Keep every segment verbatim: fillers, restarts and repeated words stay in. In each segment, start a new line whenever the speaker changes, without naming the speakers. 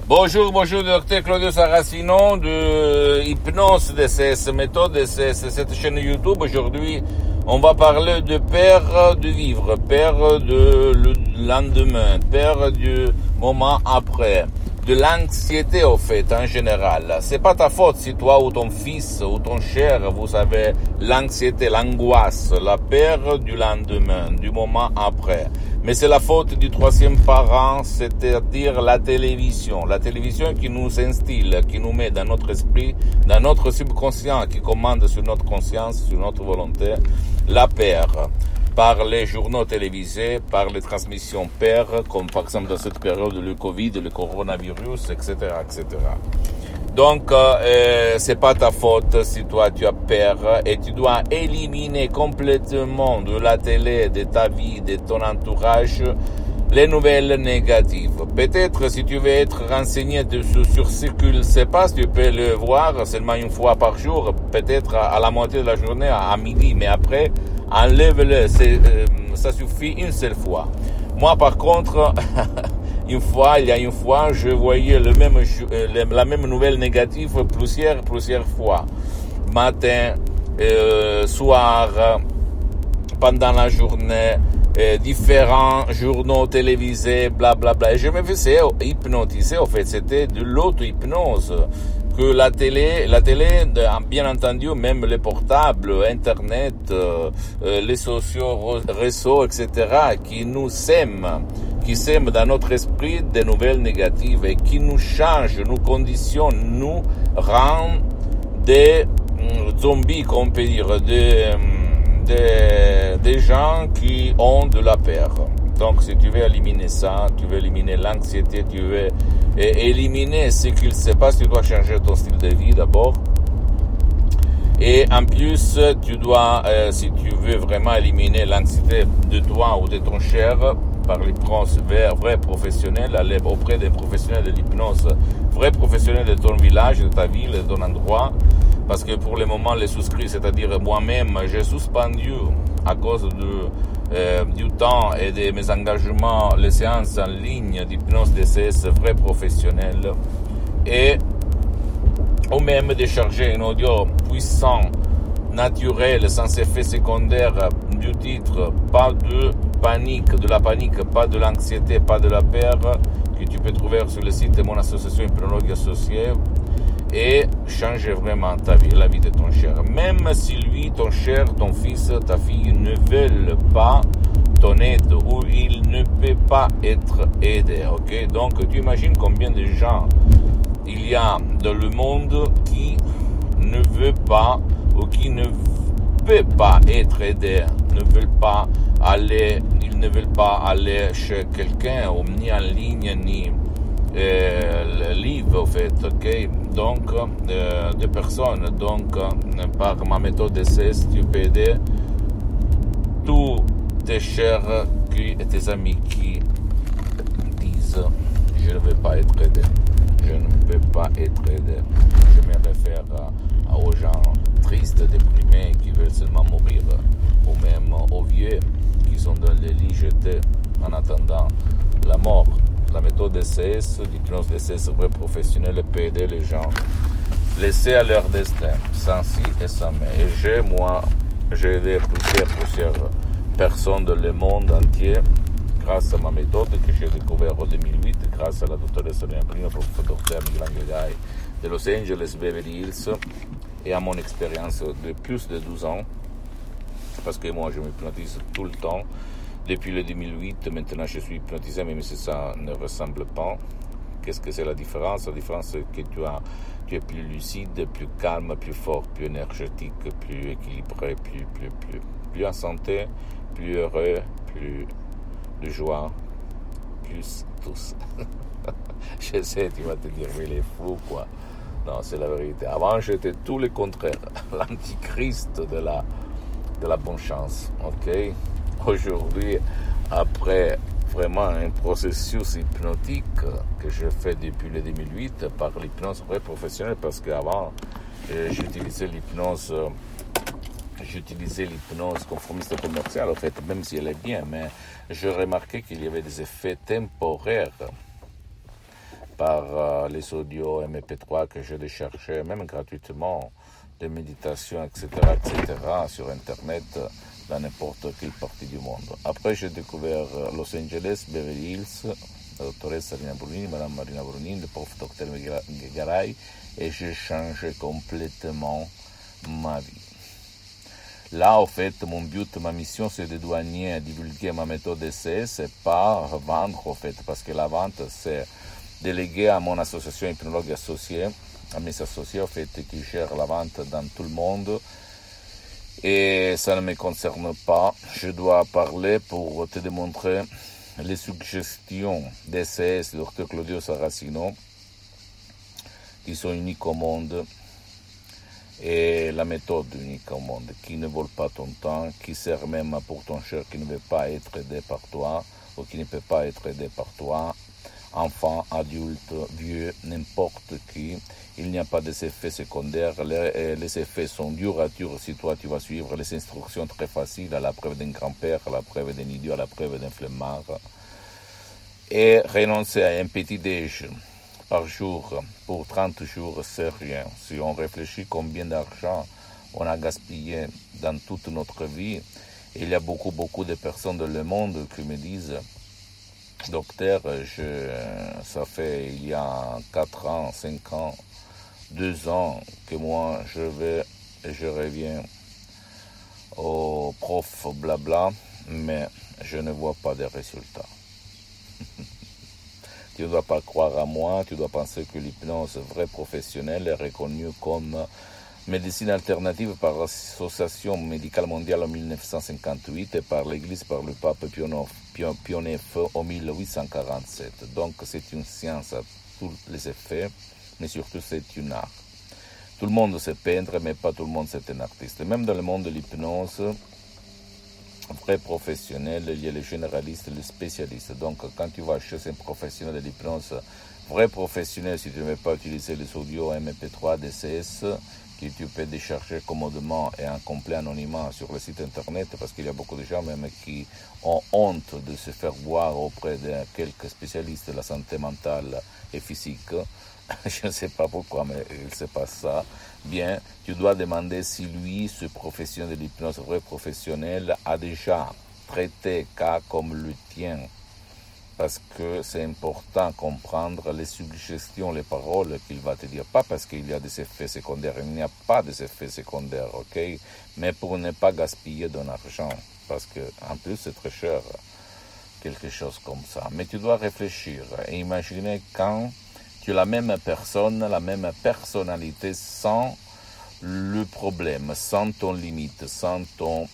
Bonjour, bonjour, docteur Claudio Saracino de Hypnose D C S, méthode D C S, cette chaîne YouTube. Aujourd'hui, on va parler de peur de vivre, peur de le lendemain, peur du moment après, de l'anxiété au fait, en général. C'est pas ta faute si toi ou ton fils ou ton cher, vous avez l'anxiété, l'angoisse, la peur du lendemain, du moment après. Mais c'est la faute du troisième parent, c'est-à-dire la télévision. La télévision qui nous instille, qui nous met dans notre esprit, dans notre subconscient, qui commande sur notre conscience, sur notre volonté, la peur. Par les journaux télévisés, par les transmissions peur, comme par exemple dans cette période le Covid, le coronavirus, et cetera, et cetera. Donc, euh, c'est pas ta faute si toi tu as peur et tu dois éliminer complètement de la télé, de ta vie, de ton entourage, les nouvelles négatives. Peut-être si tu veux être renseigné sur, sur ce qu'il se passe, tu peux le voir seulement une fois par jour, peut-être à, à la moitié de la journée, à, à midi, mais après, enlève-le, c'est, euh, ça suffit une seule fois. Moi, par contre, une fois, il y a une fois, je voyais le même, la même nouvelle négative plusieurs, plusieurs fois. Matin, euh, soir, pendant la journée, euh, différents journaux télévisés, blablabla. Bla, bla. Et je me faisais hypnotiser, en fait, c'était de l'auto-hypnose. Que la télé, la télé, bien entendu, même les portables, Internet, euh, les sociaux, réseaux, et cetera, qui nous sèment, qui sèment dans notre esprit des nouvelles négatives et qui nous changent, nous conditionnent, nous rendent des zombies, qu'on peut dire, des, des, des gens qui ont de la peur. Donc, si tu veux éliminer ça, tu veux éliminer l'anxiété, tu veux éliminer ce qu'il se passe, tu dois changer ton style de vie d'abord. Et en plus, tu dois, euh, si tu veux vraiment éliminer l'anxiété de toi ou de ton cher, par l'hypnose vrai professionnel, aller auprès des professionnels de l'hypnose, vrais professionnels de ton village, de ta ville, de ton endroit. Parce que pour le moment, les souscrits, c'est-à-dire moi-même, j'ai suspendu à cause de Euh, du temps et de mes engagements, les séances en ligne d'hypnose D C S vrai professionnel et ou même de charger un audio puissant, naturel, sans effet secondaire du titre, pas de panique, de la panique, pas de l'anxiété, pas de la peur, que tu peux trouver sur le site de mon association Hypnologue Associée, et changer vraiment ta vie, la vie de ton cher. Même si lui, ton cher, ton fils, ta fille ne veulent pas ton aide ou il ne peut pas être aidé, ok? Donc, tu imagines combien de gens il y a dans le monde qui ne veut pas ou qui ne peut pas être aidé, ne veulent pas aller, ils ne veulent pas aller chez quelqu'un, ou ni en ligne, ni euh, live, en fait, ok? Donc, euh, de personnes. Donc, euh, par ma méthode D C S, tu peux aider tous tes chers qui, et tes amis qui disent « Je ne veux pas être aidé. Je ne peux pas être aidé. » Je me réfère à, à, aux gens tristes, déprimés, qui veulent seulement mourir, ou même aux vieux qui sont dans les lits jetés en attendant la mort. La méthode D C S, l'hypnose D C S vrai professionnel, peut aider les gens laissés à leur destin, sans si et sans mais. Et j'ai, moi, j'ai aidé plusieurs, plusieurs personnes dans le monde entier grâce à ma méthode que j'ai découverte en deux mille huit, grâce à la doctoresse Sonia Primo, professeur docteur Miguel Angel de Los Angeles, Beverly Hills, et à mon expérience de plus de douze ans, parce que moi je m'hypnotise tout le temps. Depuis le deux mille huit, maintenant je suis hypnotisé, même si ça ne ressemble pas. Qu'est-ce que c'est la différence? La différence, c'est que tu, as, tu es plus lucide, plus calme, plus fort, plus énergétique, plus équilibré, plus, plus, plus, plus en santé, plus heureux, plus de joie, plus tous. Je sais, tu vas te dire, mais il est fou, quoi. Non, c'est la vérité. Avant, j'étais tout le contraire, l'antichrist de la, de la bonne chance, ok? Aujourd'hui, après vraiment un processus hypnotique que je fais depuis le deux mille huit par l'hypnose vraie professionnelle, parce qu'avant, euh, j'utilisais l'hypnose, euh, j'utilisais l'hypnose conformiste commerciale, en fait, même si elle est bien, mais je remarquais qu'il y avait des effets temporaires par euh, les audios M P trois que j'ai cherché, même gratuitement, des méditations, et cetera, et cetera, sur Internet, dans n'importe quelle partie du monde. Après, j'ai découvert Los Angeles, Beverly Hills, la doctoresse Marina Brunini, Madame Marina Brunini, le prof docteur Garay, et j'ai changé complètement ma vie. Là, en fait, mon but, ma mission, c'est de douanier à divulguer ma méthode D C S et pas vendre, en fait, parce que la vente, c'est délégué à mon association hypnologue associée, à mes associés, en fait, qui gèrent la vente dans tout le monde. Et ça ne me concerne pas. Je dois parler pour te démontrer les suggestions D C S du docteur Claudio Saracino, qui sont uniques au monde, et la méthode unique au monde, qui ne vole pas ton temps, qui sert même pour ton cher qui ne veut pas être aidé par toi, ou qui ne peut pas être aidé par toi, enfant, adulte, vieux, n'importe qui. Il n'y a pas d'effets secondaires. Les, les effets sont durs à dur si toi tu vas suivre les instructions très faciles, à la preuve d'un grand-père, à la preuve d'un idiot, à la preuve d'un flemmard. Et renoncer à un petit déj par jour pour trente jours, c'est rien. Si on réfléchit combien d'argent on a gaspillé dans toute notre vie, il y a beaucoup, beaucoup de personnes dans le monde qui me disent: docteur, je, ça fait il y a quatre ans, cinq ans, deux ans que moi je vais et je reviens au prof blabla, mais je ne vois pas de résultats. Tu ne dois pas croire à moi, tu dois penser que l'hypnose vraie professionnelle est reconnue comme médecine alternative par l'Association médicale mondiale en mille neuf cent cinquante-huit et par l'Église, par le pape Pie neuf en mille huit cent quarante-sept. Donc c'est une science à tous les effets, mais surtout c'est une art. Tout le monde sait peindre, mais pas tout le monde c'est un artiste. Même dans le monde de l'hypnose, vrai professionnel, il y a les généralistes, les spécialistes. Donc quand tu vas chez un professionnel de l'hypnose, vrai professionnel, si tu ne veux pas utiliser les audios M P trois, D C S, que tu peux décharger commodément et en complet anonymat sur le site internet, parce qu'il y a beaucoup de gens même qui ont honte de se faire voir auprès de quelques spécialistes de la santé mentale et physique. Je ne sais pas pourquoi, mais il se passe ça. Bien, tu dois demander si lui, ce professionnel de l'hypnose, vrai professionnel, a déjà traité cas comme le tien. Parce que c'est important de comprendre les suggestions, les paroles qu'il va te dire. Pas parce qu'il y a des effets secondaires, il n'y a pas d'effets secondaires, ok? Mais pour ne pas gaspiller ton argent, parce que en plus c'est très cher, quelque chose comme ça. Mais tu dois réfléchir et imaginer quand tu es la même personne, la même personnalité, sans le problème, sans ton limite, sans ton,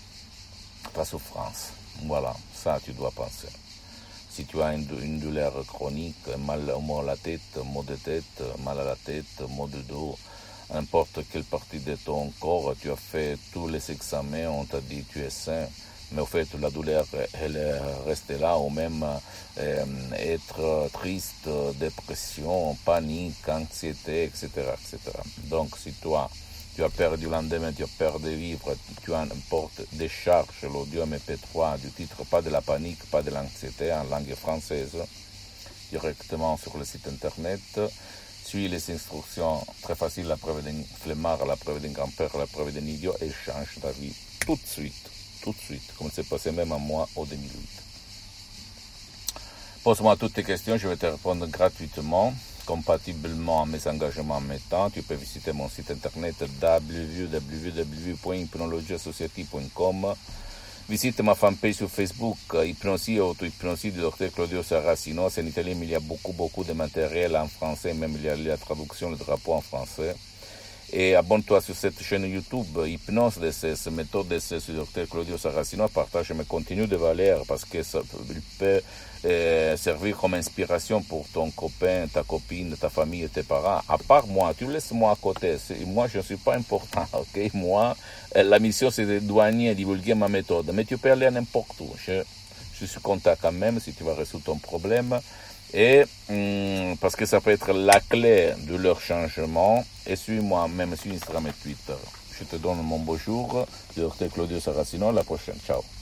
ta souffrance. Voilà, ça tu dois penser. Si tu as une, une douleur chronique, mal, mal à la tête, maux de tête, mal à la tête, maux de dos, n'importe quelle partie de ton corps, tu as fait tous les examens, on t'a dit tu es sain, mais au fait la douleur elle est restée là, ou même euh, être triste, dépression, panique, anxiété, et cetera, et cetera. Donc si toi tu as peur du lendemain, tu as peur de vivre, tu importes des charges, l'audio M P trois du titre, pas de la panique, pas de l'anxiété, en langue française, directement sur le site internet. Suis les instructions très faciles, la preuve d'un flemmard, la preuve d'un grand-père, la preuve d'un idiot, et change ta vie tout de suite, tout de suite, comme c'est passé même à moi au deux mille huit. Pose-moi toutes tes questions, je vais te répondre gratuitement. Compatiblement à mes engagements en même temps, tu peux visiter mon site internet w w w point hypnologie associative point com. Visite ma fanpage sur Facebook, Hypnosie et Auto-Hypnosie du docteur Claudio Saracino. C'est en italien, mais il y a beaucoup, beaucoup de matériel en français, même il y a la traduction, le drapeau en français. Et abonne-toi sur cette chaîne YouTube, Hypnose D C S, méthode D C S du docteur Claudio Saracino. Partage mes contenus de valeur parce que ça peut euh, servir comme inspiration pour ton copain, ta copine, ta famille et tes parents. À part moi, tu laisses moi à côté. Moi, je ne suis pas important, ok? Moi, la mission, c'est de douanier et divulguer ma méthode. Mais tu peux aller n'importe où. Je, je suis content quand même si tu vas résoudre ton problème. Et hum, parce que ça peut être la clé de leur changement. Et suis-moi même sur Instagram et Twitter. Je te donne mon bonjour, docteur Claudio Saracino. À la prochaine. Ciao.